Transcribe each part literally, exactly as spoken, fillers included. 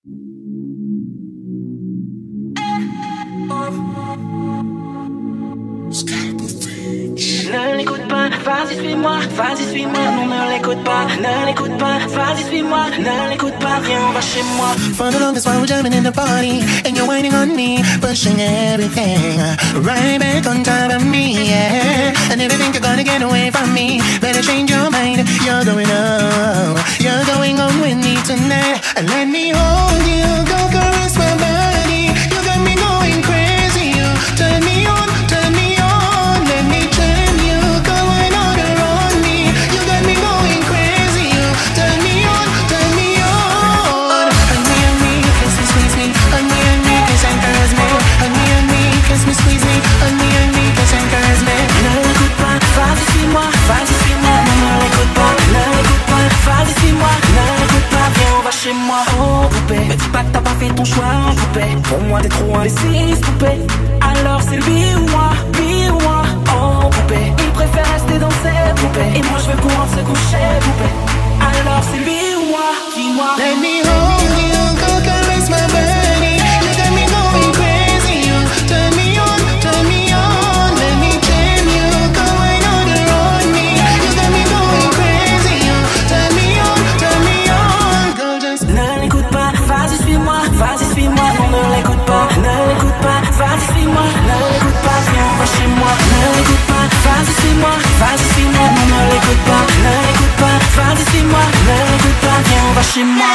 Ne l'écoute pas, vas-y suis-moi, vas-y suis-moi, non ne l'écoute pas, ne l'écoute pas, vas-y suis-moi, ne l'écoute pas, viens on va chez moi. For the longest while we're jamming in the party, and you're whining on me, pushing everything right back on top of me, yeah. And if you think you're gonna get away from me, better change your mind. You're going on, you're going on with me tonight. And let me hold you, go caress my body. You got me going crazy, you turn me on, turn me on. Let me turn you, going on around me. You got me going crazy, you turn me on, turn me on. Hug me, hug me, kiss me, squeeze me. Hug me, hug me, kiss and caress me. Hug me, hug me, kiss me, squeeze me. Hug me, hug me, kiss and caress me. Ne l'écoute pas, vas-y suis-moi, vas-y suis-moi, non ne l'écoute pas, ne l'écoute pas, vas-y suis-moi, ne l'écoute pas, viens on va chez moi. Oh poupée, me dis pas que t'as pas fait ton choix, poupée. Pour moi t'es trop indécise, poupée. Alors c'est lui ou moi, lui ou moi. Oh poupée, il préfère rester dans ses poupées, et moi je veux pouvoir se coucher, poupée. Alors c'est lui ou moi, dis-moi. Let me hold you, go caress my body. You got me going crazy, you turn me on, turn me on. Let me tame you, going on around me. You got me going crazy, you turn me on, turn me on. Girl, just ne l'écoute pas, vas-y suis-moi, vas-y suis-moi, non ne l'écoute pas, ne l'écoute pas, vas-y suis-moi, ne l'écoute pas, viens on va chez moi. Ne l'écoute pas, vas-y suis-moi, vas-y suis-moi, non ne l'écoute pas, ne l'écoute pas, vas-y suis-moi, ne l'écoute pas, viens on va chez moi.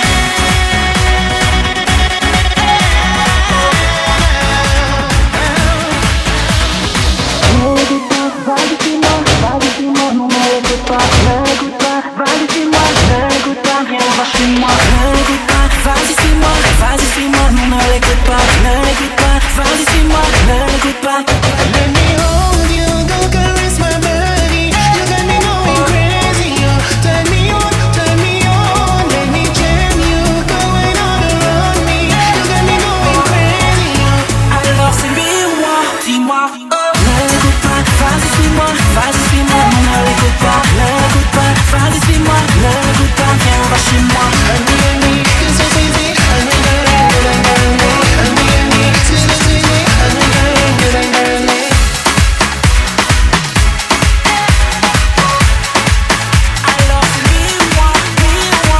let me hold you, go caress my body. You got me going crazy, you turn me on, turn me on. Let me jam you, going on around me. You got me going crazy, you. Alors c'est lui ou moi, dis-moi. Ne l'écoute pas, vas-y suis-moi, vas-y suis-moi, non ne l'écoute pas, ne l'écoute pas, vas-y suis-moi, ne l'écoute pas, viens on va chez moi. Hug me, hug me, kiss me, squeeze me. Hug me, hug me, hug me, hug me. Hug me, hug me, squeeze me, squeeze me. Hug me, hug me, hug me, hug me. Alors c'est lui ou moi, lui ou moi.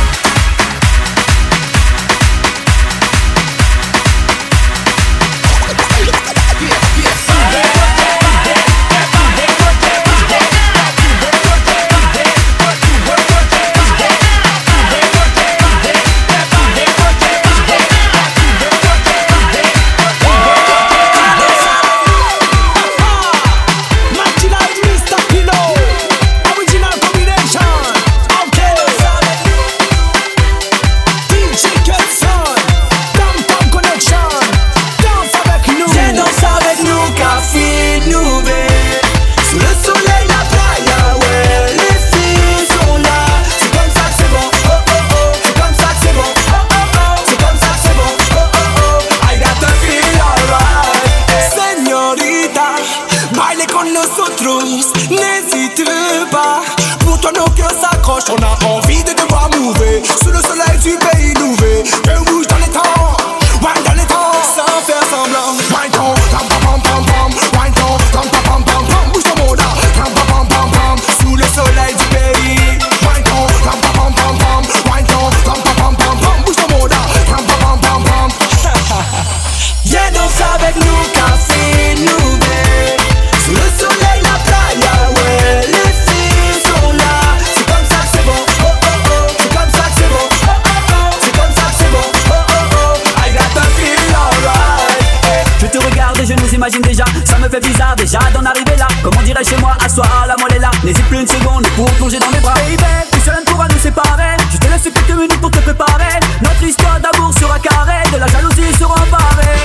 N'hésite pas, pour toi nos cœurs s'accrochent. On a envie de te voir mouver sous le soleil du pays nouvé. Que bouge dans les temps, wine dans les temps, sans faire semblant. Wine ton, pam pam pam pam pam. Wine ton, pam pam pam pam pam. Bouge ton moda, pam pam pam pam pam. Sous le soleil du pays. Wine ton, pam pam pam pam pam. Wine ton, pam pam pam pam pam. Bouge ton moda, pam pam pam pam pam. Viens danser avec nous, café nouvé. Sous le soleil, la playa, ouais, les filles sont là. C'est comme ça que c'est bon, oh oh oh. C'est comme ça que c'est bon, oh oh oh. C'est comme ça que c'est bon, oh oh oh. I got the feel alright. Je te regarde et je nous imagine déjà. Ça me fait bizarre déjà d'en arriver là. Comme on dirait chez moi, asseoir la moelle est là. N'hésite plus une seconde pour plonger dans mes bras. Baby, plus seul ne pourra nous séparer. Je te laisse quelques minutes pour te préparer. Notre histoire d'amour sera carrée, de la jalousie sera emparée.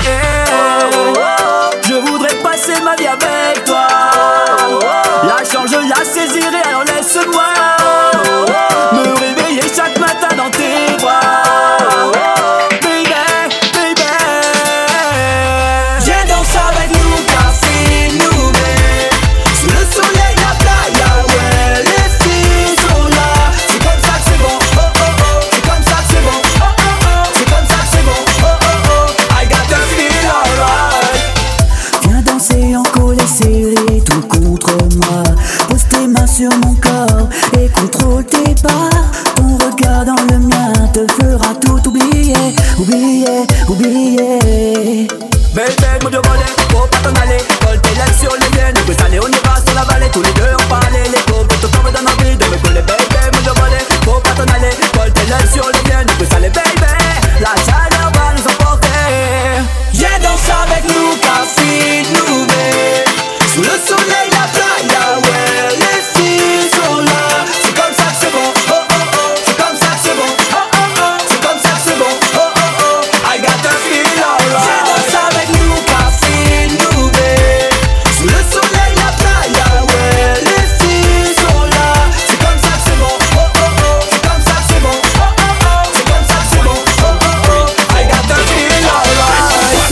Je voudrais passer ma vie avec toi. La chance je la saisirai, alors laisse-moi me réveiller chaque matin dans tes bras. Baby, baby, viens danser avec nous, café nouvé. Sous le soleil, la playa, ouais, les filles sont là. C'est comme ça que c'est bon, oh oh oh. C'est comme ça que c'est bon, oh oh oh. C'est comme ça te fera tout oublier, oublier, oublier. Baby, mon Dieu volé, faut pas t'en aller. Colle tes lèvres sur les miennes, on peut s'aller, on ira sur la vallée. Tous les deux on parlait, les copains, tout le temps me donne envie de me coller. Baby, mon Dieu volé, faut pas t'en aller. Colle tes lèvres sur les miennes, on peut s'aller, baby. La chaleur va nous emporter. Viens danser avec nous, café Nubé. Sous le soleil, la playa, ouais, les filles sont là. C'est comme ça que c'est bon, oh oh oh. C'est comme ça que c'est bon, oh oh oh. C'est comme ça que c'est bon, oh oh oh. I got the feel alright. Viens danser avec nous, café Nubé. Sous le soleil, la playa, ouais, les filles sont là. C'est comme ça que c'est bon, oh oh oh. C'est comme ça que c'est bon, oh oh oh. C'est comme ça que c'est bon, oh oh oh. I got the feel alright.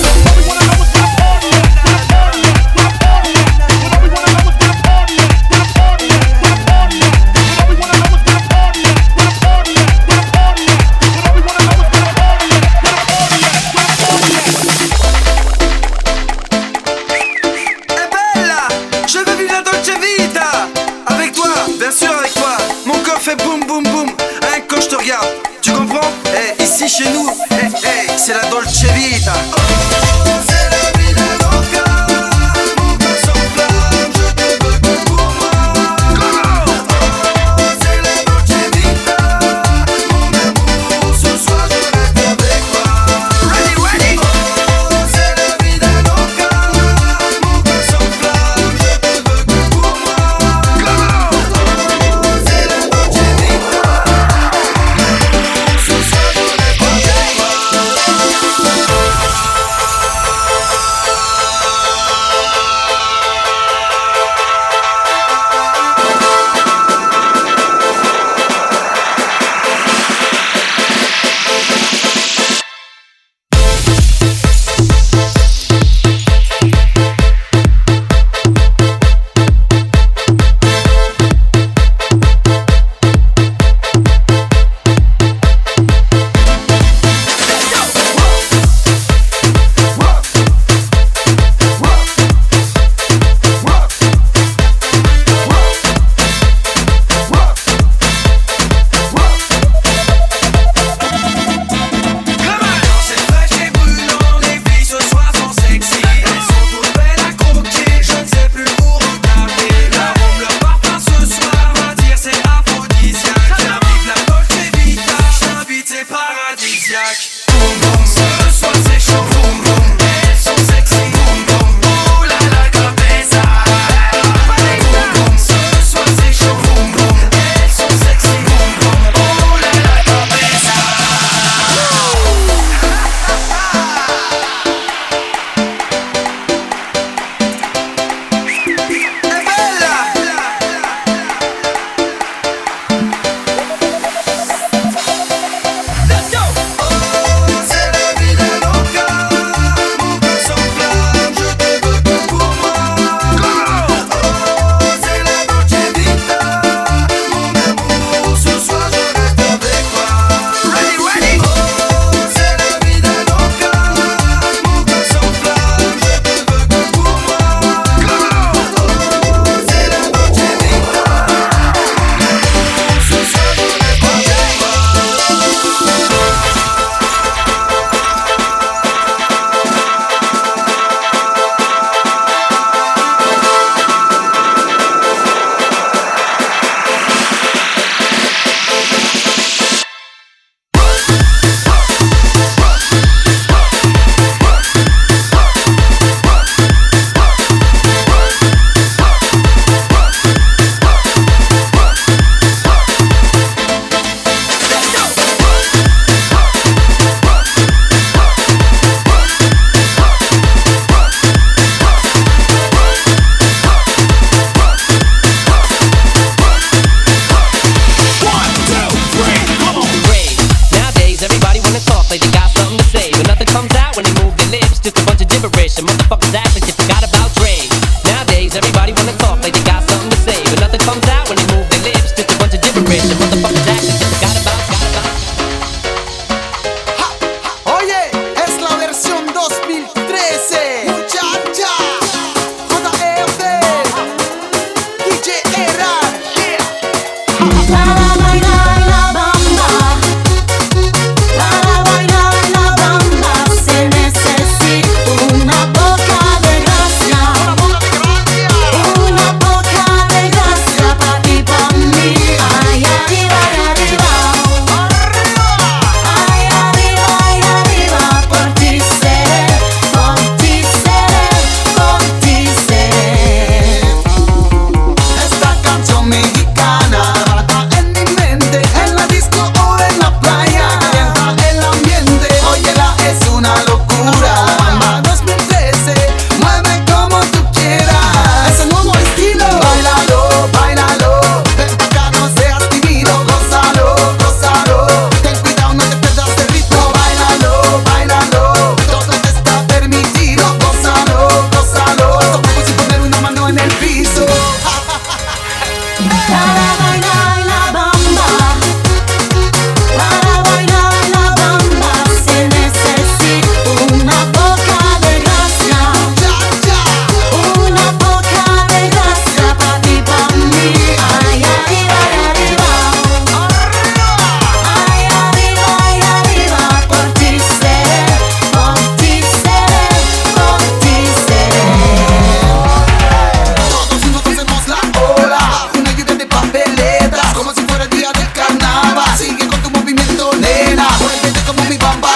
Je veux vivre la Dolce Vita. Avec toi, bien sûr avec toi. Mon corps fait boum boum boum. Hein, quand je te regarde, tu comprends? Eh, ici chez nous, eh, eh, c'est la Dolce Vita. Oh, c'est la vida loca. Mon cœur s'enflamme, je te veux que pour moi. Oh, c'est la Dolce Vita. Mon amour, ce soir je reste avec toi. Ready, ready. Oh, c'est la vida loca. Mon cœur s'enflamme, je te veux que pour moi. Oh, c'est la Dolce Vita. Ce soir je reste avec toi.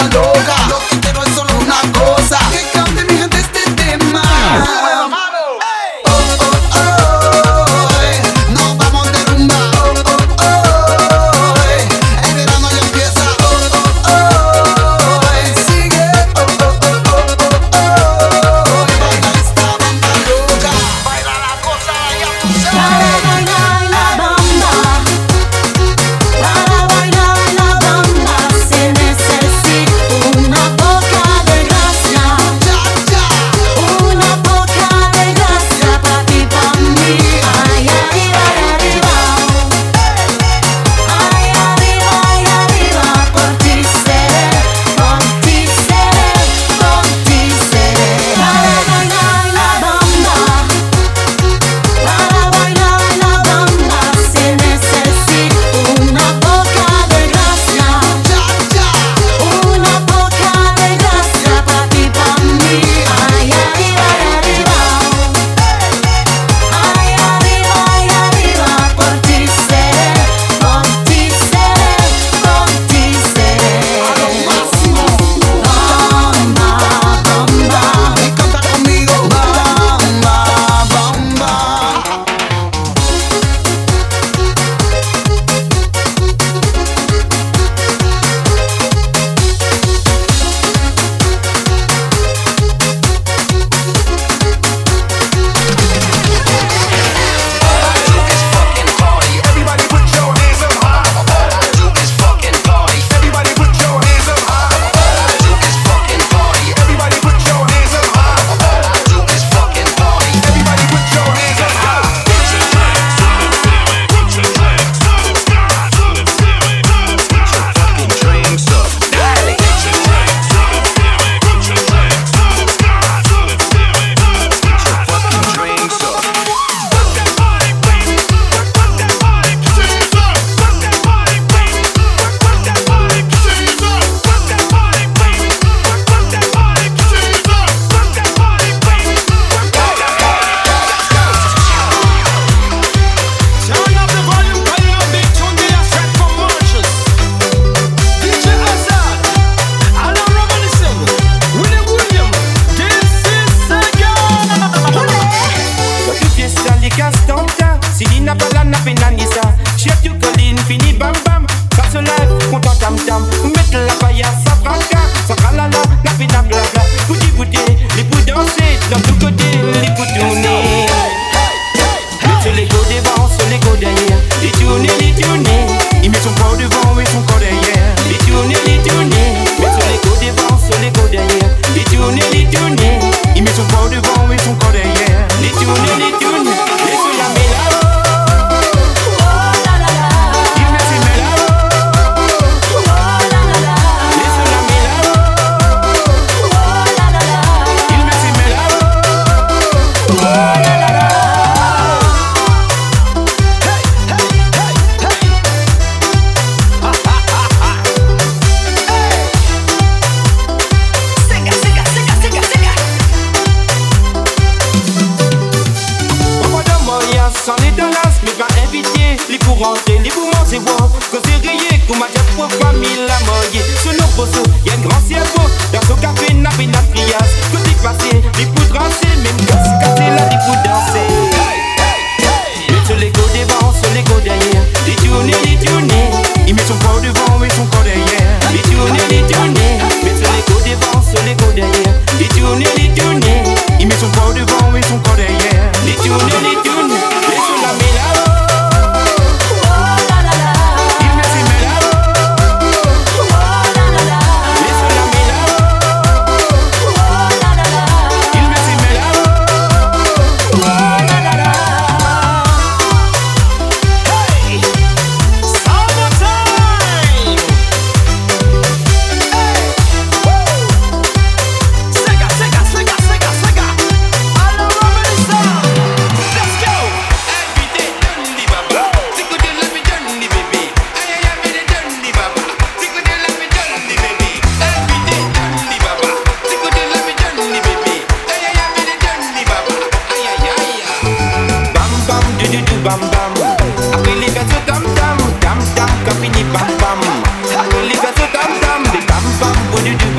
loca. Lo que quiero es solo una cosa, que cambie mi gente este tema. Oh, oh, oh, eh, nos vamos de rumba. Oh, oh, oh, eh, el verano ya empieza. Oh, oh, oh, eh, sigue. Oh, oh, oh, oh, oh, oh, y baila esta banda loca. Baila la cosa, ya tú sabes. Bailar la bamba, para bailar la bamba se necesita una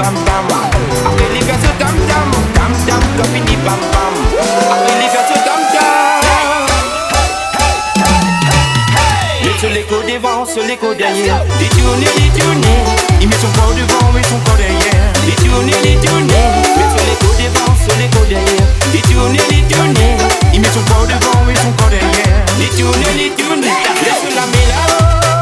bam bam. Après les gars se tam tam, tam tam, comme fini bam bam. Après les gars se tam tam. Mais sur l'écho devant, sur l'écho derrière. Les tournées, les tournées. Il met son corps devant, mais son corps derrière. Les tournées, les tournées. Mais sur l'écho devant, sur l'écho derrière. Les tournées, les tournées. Il met son corps devant, mais son corps derrière. Les tournées, les tournées. Laisse la mélange.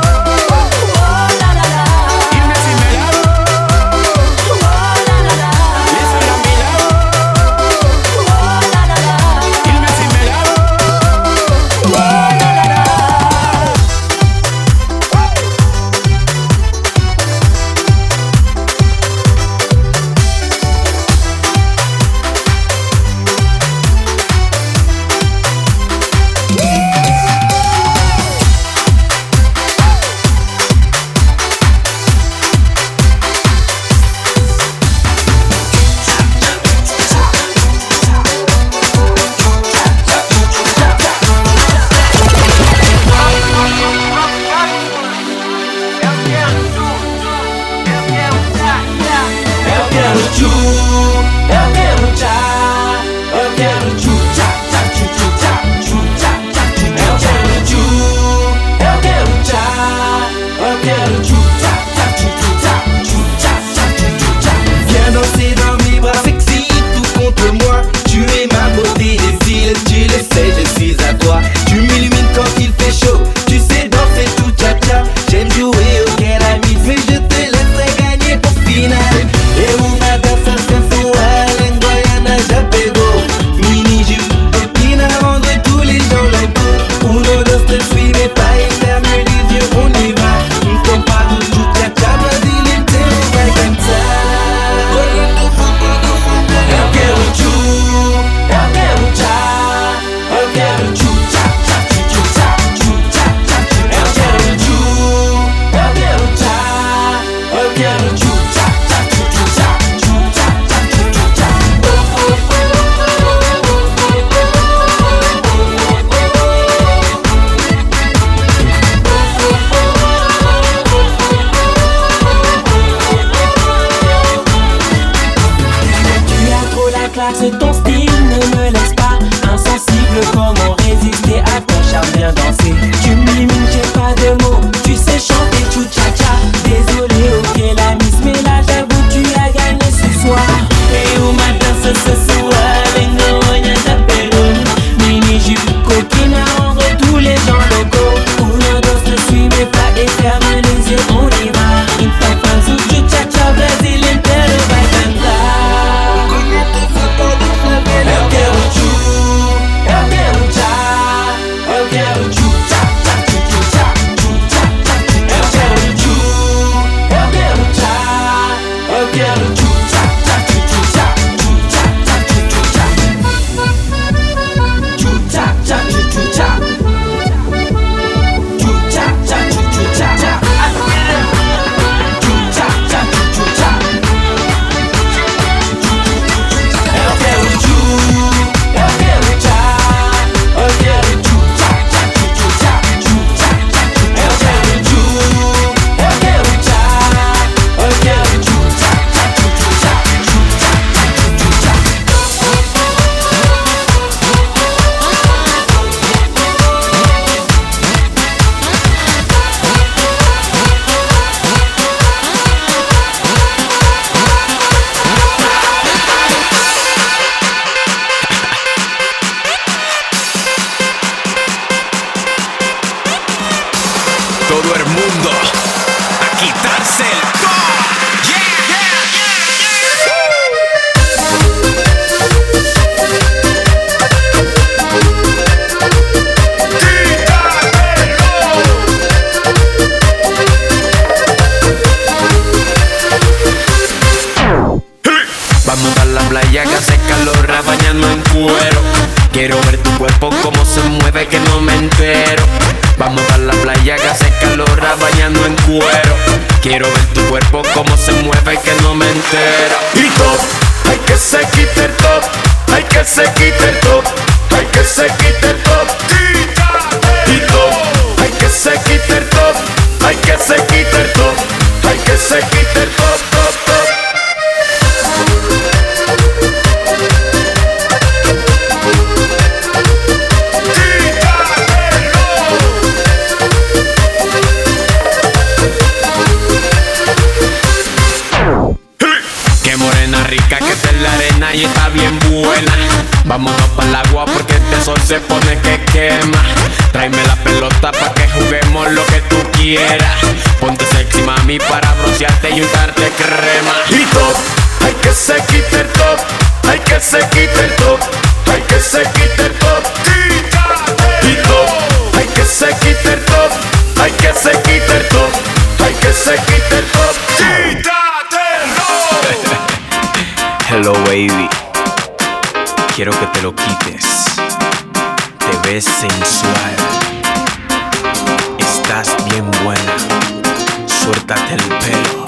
Quiero ver tu cuerpo como se mueve que no me entera. Y top, hay que se quite el top, hay que se quite el top, hay que se quite el top. Y top, hay que se quite el top, hay que se quite el top, hay que se quite el top, top, top. rica que está en la arena y está bien buena. Vámonos para el agua porque este sol se pone que quema. Tráeme la pelota pa' que juguemos lo que tú quieras. Ponte sexy mami para broncearte y untarte crema. Y top, hay que se quite el top, hay que se quite el top, hay que se quite el top. Y top, hay que se quite el top, hay que se quite el top, hay que se quite el top. Hello baby, quiero que te lo quites. Te ves sensual, estás bien buena. Suéltate el pelo.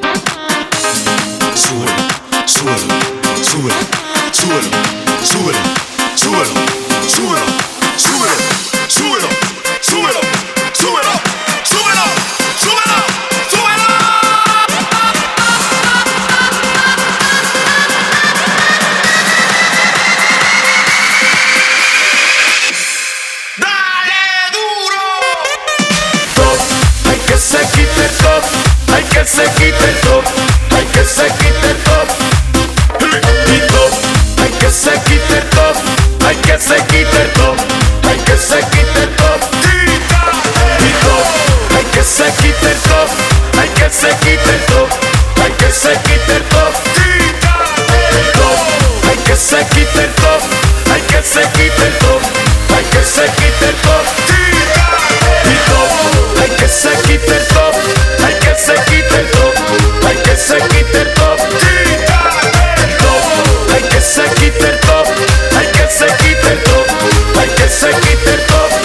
Súbelo, súbelo, súbelo, súbelo, súbelo, súbelo, súbelo, súbelo, súbelo, súbelo, súbelo, súbelo, súbelo, súbelo. Dale duro. Top, hay que se quite el top, hay que se quite el top, hay que se quite el top. Y top, hay que se quite el top, hay que se quite el top, hay que se quite el top. Y top, hay que se quite el top, hay que se quite el top, hay que se quite el top. Y top, hay que se quite el top, hay que se quite el top, hay que se quite el top. Y top, hay que se quite el top, hay que se quite el top, hay que se quite el top. Hay que se quite el top, hay que se quite el top, hay que se quite el top.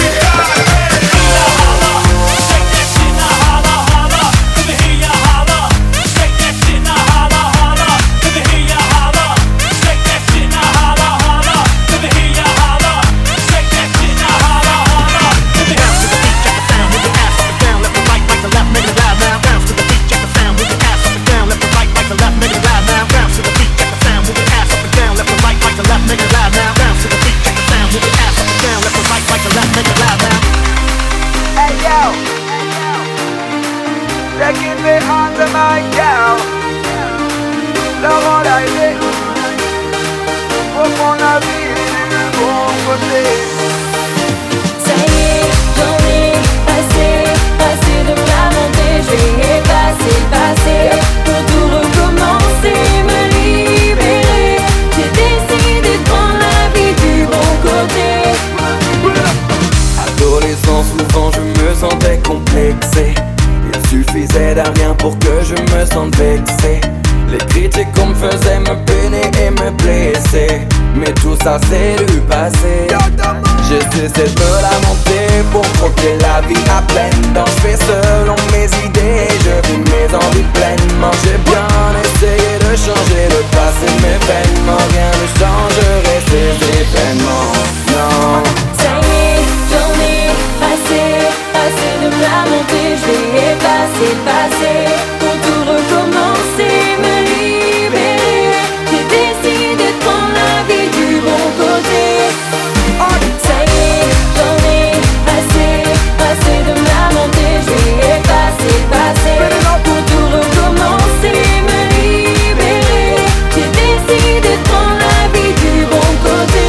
suffisait d'un rien pour que je me sente vexé. Les critiques qu'on me faisait me peiner et me blesser, mais tout ça c'est du passé. J'ai cessé de me lamenter pour croquer la vie à pleine dents. Je fais selon mes idées, je vis mes envies pleinement. J'ai bien essayé de changer le passé, mais vainement rien ne changerait ces événements. Non. Ça y est, j'en ai assez, assez de me lamenter. Je vais effacer le passé pour tout recommencer, me libérer. J'ai décidé de prendre la vie du bon côté. Ça y est, j'en ai assez, assez de me lamenter. Je vais effacer le passé pour tout recommencer, me libérer. J'ai décidé de prendre la vie du bon côté.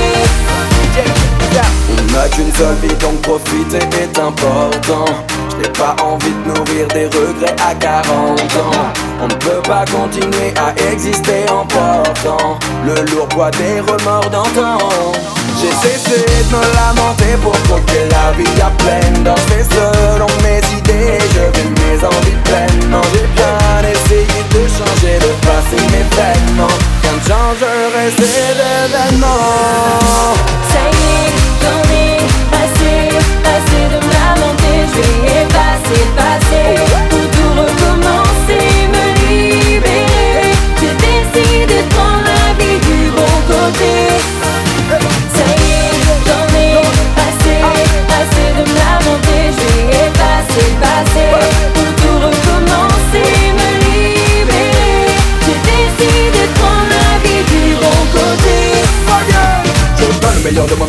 On n'a qu'une seule vie donc profiter est important. Je n'ai pas envie de nourrir des regrets à quarante ans. On ne peut pas continuer à exister en portant le lourd poids des remords d'antan. J'ai cessé de me lamenter pour croquer la vie à pleine dents. Je fais selon mes idées, je vis mes envies pleinement. J'ai bien essayé de changer le passé, mais vainement rien ne changerait ces événements. Ça y est, j'en ai assez, assez de me lamenter. Je vais effacer le passé pour tout recommencer, me libérer. J'ai décidé de prendre la vie du bon côté. Ça y est, j'en ai assez, assez de me lamenter. Je vais effacer le passé pour tout recommencer, me libérer.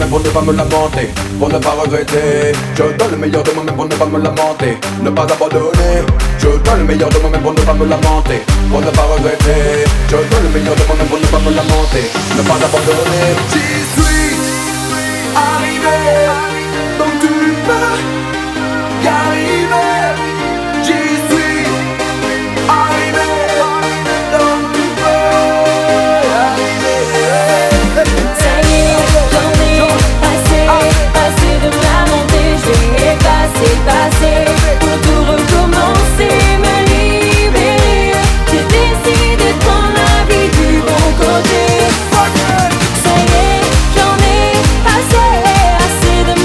moi-même pour ne pas me lamenter, pour ne pas regretter. Je donne le meilleur de moi-même pour ne pas me lamenter, ne pas abandonner. Je donne le meilleur de moi-même pour ne pas me lamenter, pour ne pas regretter. Je donne le meilleur de moi-même pour ne pas me lamenter, ne pas abandonner. J'y suis arrivé, donc tu peux y arriver. J'y suis arrivé, donc tu peux y arriver. Ça y est, j'en ai assez, assez de me lamenter. Je vais effacer, passer pour tout recommencer, me libérer. J'ai décidé de prendre la vie du bon côté. Ça y est, j'en ai assez, assez de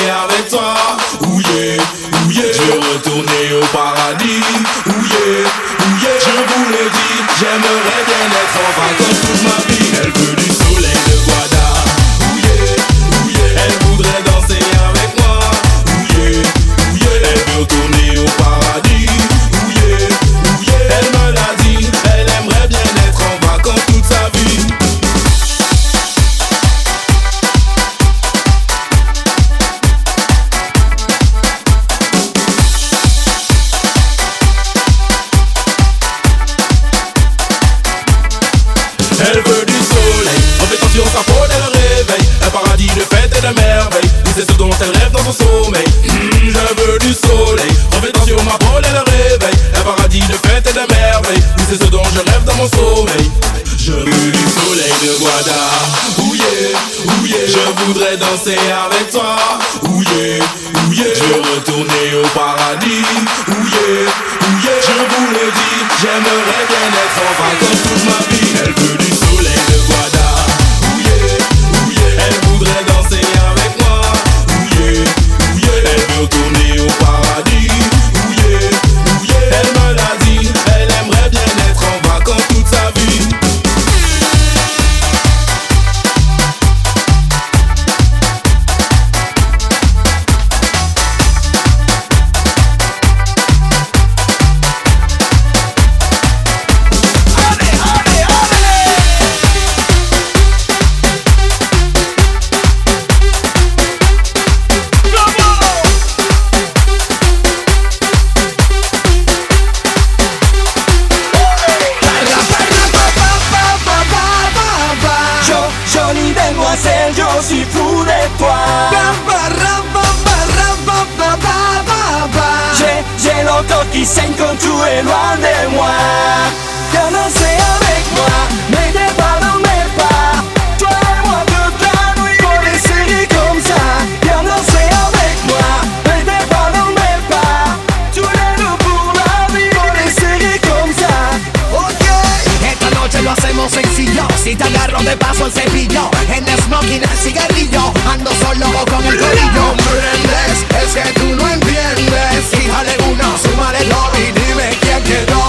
avec toi. Ouh yeah, ouh yeah. Je veux retourner au paradis. Ouh yeah, ouh yeah. Je vous le dis, j'aimerais bien être en vacances toute ma vie. Elle veut du soleil de Guada. Ouh yeah, ouh yeah. Elle voudrait danser avec moi. Ouh yeah, ouh yeah. Elle veut retourner au paradis. Ouh yeah, ouh yeah. Elle me l'a dit, elle aimerait bien être en vacances toute sa vie. Elle veut du soleil, en fait attention sa peau elle le réveille. Un paradis de fête et de merveille, oui c'est ce dont elle rêve dans son sommeil. mmh, Je veux du soleil, en fait attention ma peau elle le réveille. Un paradis de fête et de merveille, oui c'est ce dont je rêve dans mon sommeil. Je veux du soleil de Guada. Ouh yeah, ouh yeah. Je voudrais danser avec toi. Ouh yeah, ouh yeah. Je veux retourner au paradis. Ouh yeah, ouh yeah. Je vous le dis, j'aimerais bien être en vacances toute ma vie. Elle veut du soleil de Guada. Ouh yeah, ouh yeah. Elle voudrait danser avec moi. Ouh yeah, ouh yeah. Elle veut retourner au paradis. Ouh yeah, ouh yeah. Elle me l'a dit, elle aimerait bien être en vacances toute sa vie. Je suis fou de toi. J'ai, j'ai le corps qui saigne quand tu es loin de moi. Viens danser avec moi, mets tes pas dans mes pas. Toi et moi toute la nuit, pour des séries comme ça. Viens danser avec moi, mets tes pas dans mes pas. Tous les deux pour la vie, pour des séries comme ça. Ok, esta noche lo hacemos sencillo. Si te agarro de paso el cepillo, en el smoking el cigarrillo, ando solo o con el corillo. ¿Comprendes? Es que tú no entiendes. Fíjale uno, súmale dos y dime quién quedó.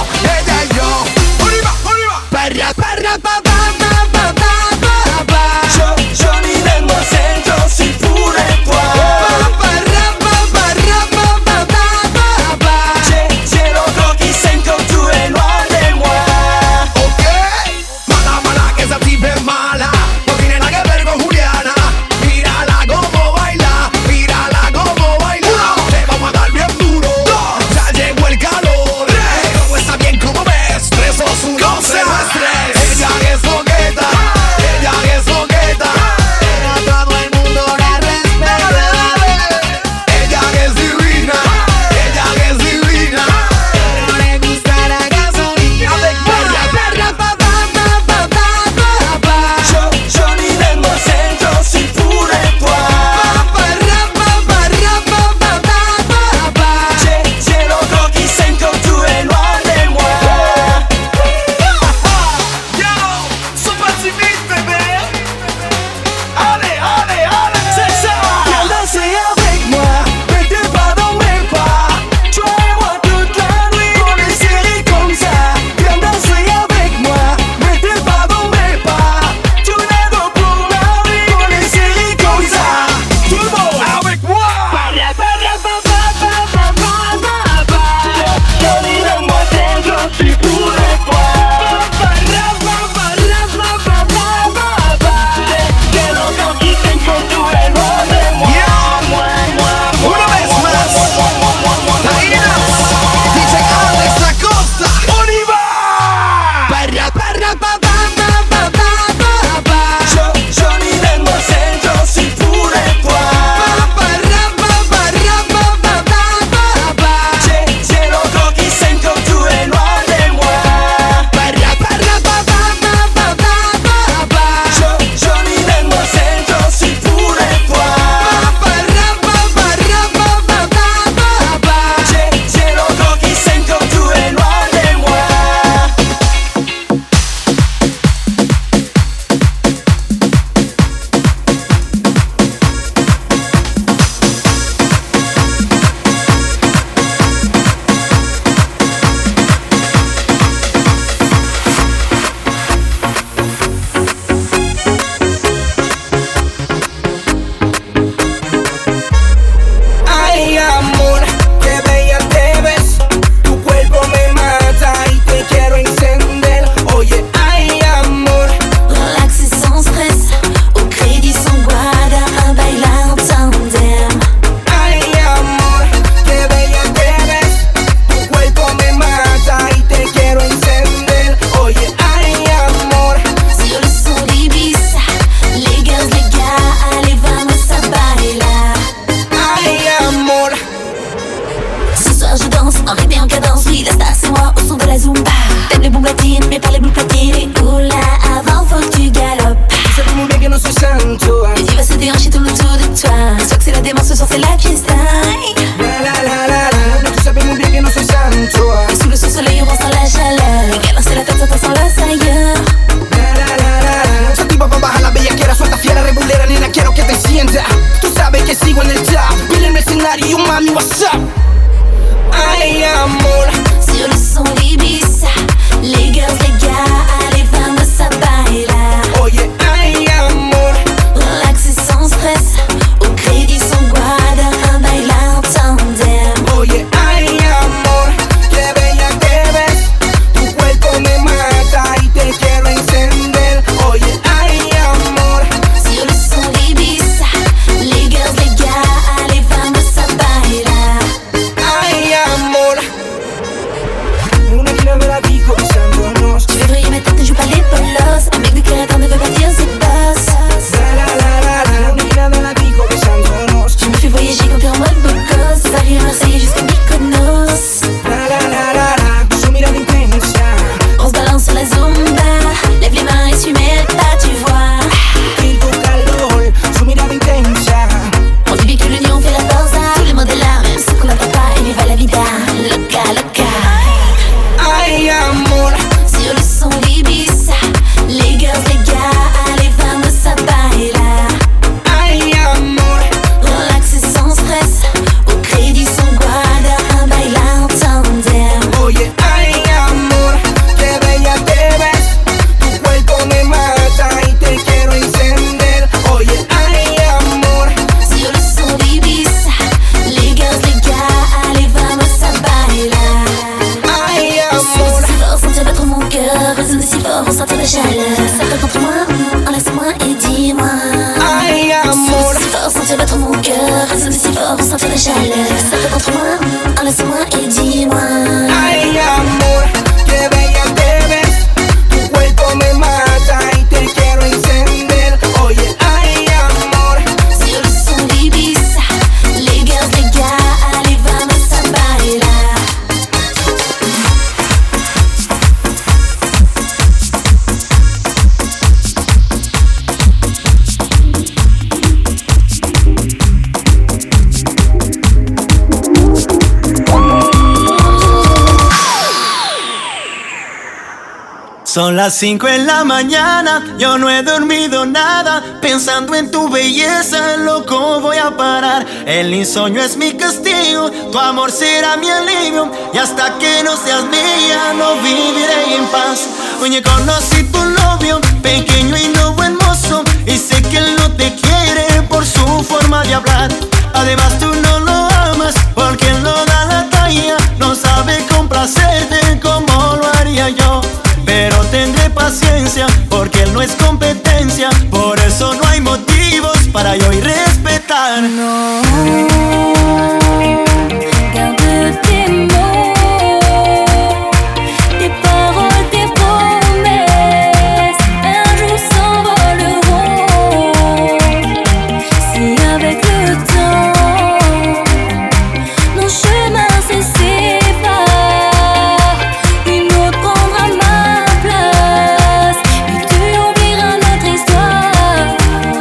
Attiré par les boules platines. Oula, avant faut que tu galopes. Tu sais muy bien que no soy santo. Les divas se déhanchent tout autour de toi. Soit que c'est la démence, ce soir c'est la fiesta. La la la la la. Tu sabes muy bien que no soy santo. Et sous le soleil, on ressent la chaleur. Et qu'elle c'est la fête, ça sent la ailleurs. La la la la la. Soy tipo pa' bajar la bellaquera, suelta fiera, rebulera, nena, quiero que te sienta. Tú sabes que sigo en el top. Viene el mercenario, mami, what's up? Ay, amor. Sur le son d'Ibiza, les girls, les gars, allez, vamos a bailar. Oye, ay, amor. Relaxé sans stress, au crédit sans guarda, un baile en tandem. Oye, ay, amor, qué bella te ves. Tu cuerpo me mata y te quiero encender. Oye, ay, amor. Sur le son d'Ibiza, les girls, les gars, allez, vamos a bailar. Ay, amor. Una esquina de la disco besándonos. Tu devrais mettre ne joue pas les polos. Un mec de Querétaro ne veut pas dire c'est boss. La la la la la. Una esquina de la disco besándonos. Je me fais voyager quand t'es en mode beau gosse. Paris à Marseille jusqu'à Mykonos. La la la la la. Su mirada intensa. On se balance sur la Zumba. Lève les mains et tu mets le pas, tu vois. Y tu calor, su mirada intensa. On dit bien que l'union fait la force. Tous les mots de l'art, même ceux qu'on n'entend pas. Et viva la vida, loca, loca. Ay, amor. Sur le son d'Ibiza, les girls, les gars, allez, vamos a bailar. Ay, amor. Relaxé sans stress, au crédit sans guarda, un baile en tandem. Oye, ay, amor, qué bella te ves. Tu cuerpo me mata y te quiero encender. Oye, ay, amor. Sur le son d'Ibiza, les girls, les gars, allez, vamos a bailar. Ay, amor. Si fort, sentir battre mon cœur, résonner si fort, ressentir la chaleur. Ça fait contre moi, mm, enlace-moi et dis-moi. Ay, amor. Si fort, sentir battre mon cœur, résonner si fort, ressentir la chaleur. Ça fait contre moi, mm, enlace-moi et dis-moi. Ay, amor, qué bella te ves. Tu cuerpo me mata y te quiero encender. Oye, ay, amor. Sur le son d'Ibiza, les girls, les gars, allez, vamos a bailar. Son las cinco en la mañana, yo no he dormido nada. Pensando en tu belleza, loco voy a parar. El insomnio es mi castigo, tu amor será mi alivio. Y hasta que no seas mía, no viviré en paz. Oye, conocí tu novio, pequeño y no buen mozo. Y sé que él no te quiere por su forma de hablar. Además tú no lo amas, porque él no da la talla. No sabe complacerte como lo haría yo. Pero tendré paciencia, porque él no es competencia. Por eso no hay motivos para yo ir respetar. No, garde tes mots, tes paroles, tes promesses. Un jour s'envoleront. Si avec le temps nos chemins se séparent, une autre prendra ma place et tu oublieras notre histoire.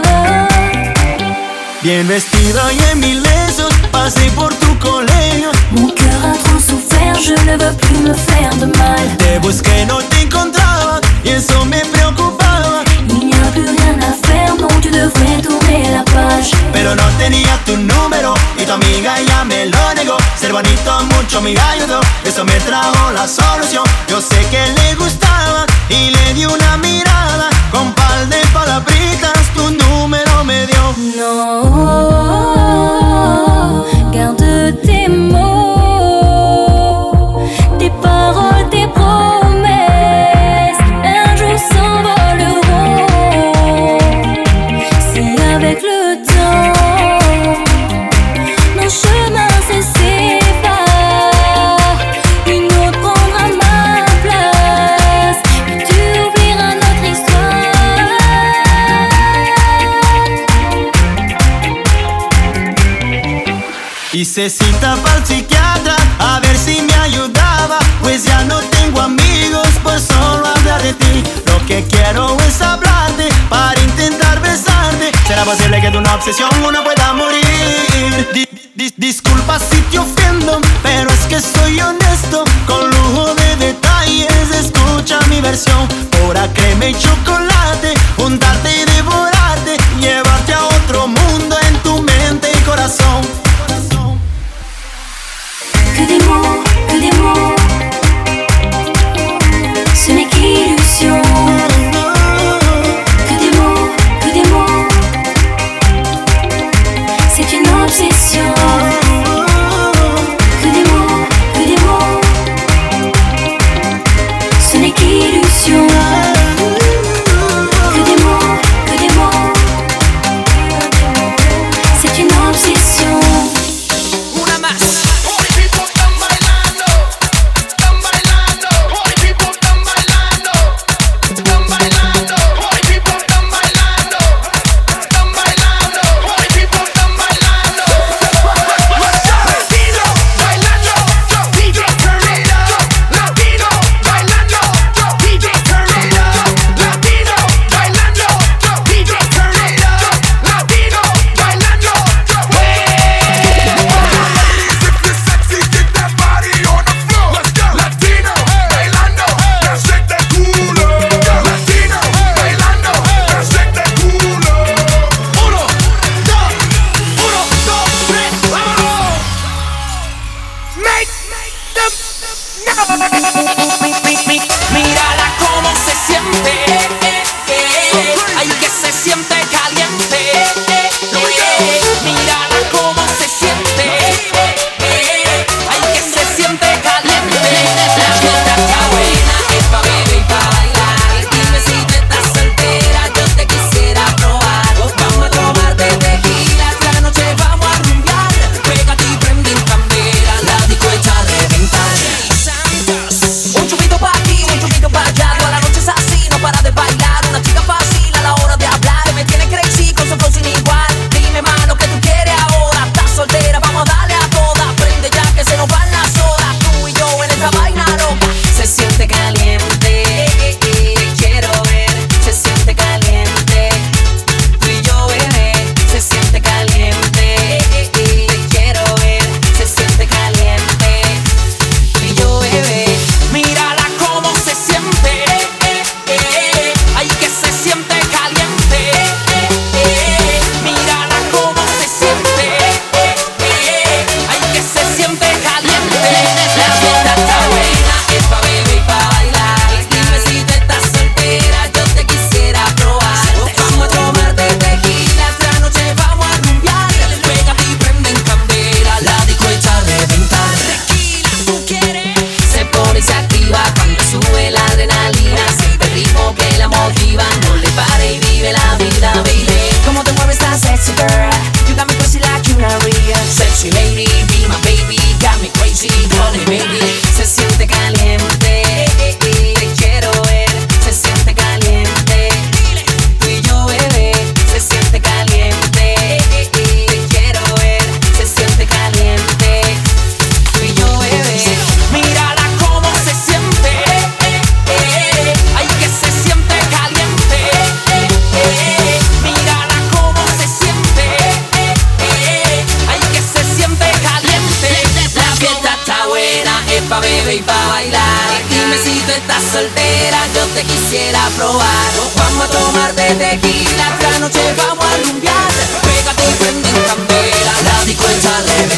Bien vestido y en mis lesos, pasé por tu colegio. Mon cœur a trop souffert, je ne veux plus me faire de mal. Te busqué, no te encontraba y eso me preocupaba. Il n'y a plus rien à faire, non, tu devrais tourner la page. Pero no tenía tu número y tu amiga ya me lo negó. Ser bonito mucho me ayudó, eso me trajo la solución. Yo sé que le gustaba y le di una mirada. Con par de palabritas tu número me dio. Non, garde tes mots, tes paroles, tes promesses. Un jour s'envoleront. Si avec le temps nos chemins se séparent, une autre prendra ma place et tu oublieras notre histoire. Hice cita pa'l psiquiatra a ver ver si me ayudaba, pues ya no tengo amigos por solo hablar de ti. Lo que quiero es hablarte para intentar besarte. ¿Será posible que de una obsesión uno pueda morir? Di dis disculpa si te ofendo, pero es que soy honesto. Con lujo de detalles, escucha mi versión. Pura crema y chocolate, juntarte y devorarte, llevarte a otro mundo en tu mente y corazón. Que des mots, que des mots, ce n'est qu'illusion. Que des mots, que des mots, c'est une obsession. Que des mots, que des mots, ce n'est qu'illusion. Que des mots, que des mots, c'est une obsession. Una más. Mírala cómo se siente, eh, eh, ay que se siente caliente, eh, eh, mírala cómo se siente, eh, eh, ay que se siente caliente. La fiesta está buena, es pa' beber y pa' bailar. Dime si tú estás soltera, yo te quisiera probar. Vamos a tomar de tequila, esta noche vamos a rumbear. Pégate y prende en candela, la disco está a reventar. Un chupito pa' aquí, un chupito pa' allá. Toda la noche es así, no para de bailar. Una chica fácil a la hora de hablar. Me tiene crazy con su flow sin igual. Dime más lo que tú quieres ahora. Estás soltera, vamos a darle a todas. Prende ya que se nos van las horas. Tú y yo en esta vaina loca. Se siente caliente, te quiero ver. Se siente caliente, tú y yo bebé. Se siente caliente, te quiero ver. Se siente caliente, tú y yo bebé. Mírala cómo se siente, eh, eh, ay que se siente caliente, eh, eh, mírala cómo se siente, eh, eh, ay que se siente caliente. La fiesta está buena, es pa' beber y pa' bailar. Dime si tú estás soltera, yo te quisiera probar. Vamos a tomar de tequila, esta noche vamos a rumbear. Pégate y prende en candela, la disco está a reventar. Tequila, ¿tú quieres? Se pone y se activa cuando sube la adrenalina. Siente el ritmo que la motiva, no le pare y vive la vida, baby. Cómo te mueves tan sexy, girl. You got me crazy like una real sexy lady. Be my baby, got me crazy, honey baby. Se siente caliente, te quiero ver. Se siente caliente, tú y yo bebé. Se siente caliente, te quiero ver. Se siente caliente, tú y yo bebé. Mírala cómo se siente, eh, eh, ay que se siente caliente, eh, eh, mírala cómo se siente, eh, eh, ay que se siente caliente. La fiesta está buena, es pa' beber y pa' bailar. Dime si tú estás soltera, yo te quisiera probar. Vamos a tomar de tequila, esta noche vamos a rumbear. Pégate y prende en candela, la disco está a reventar.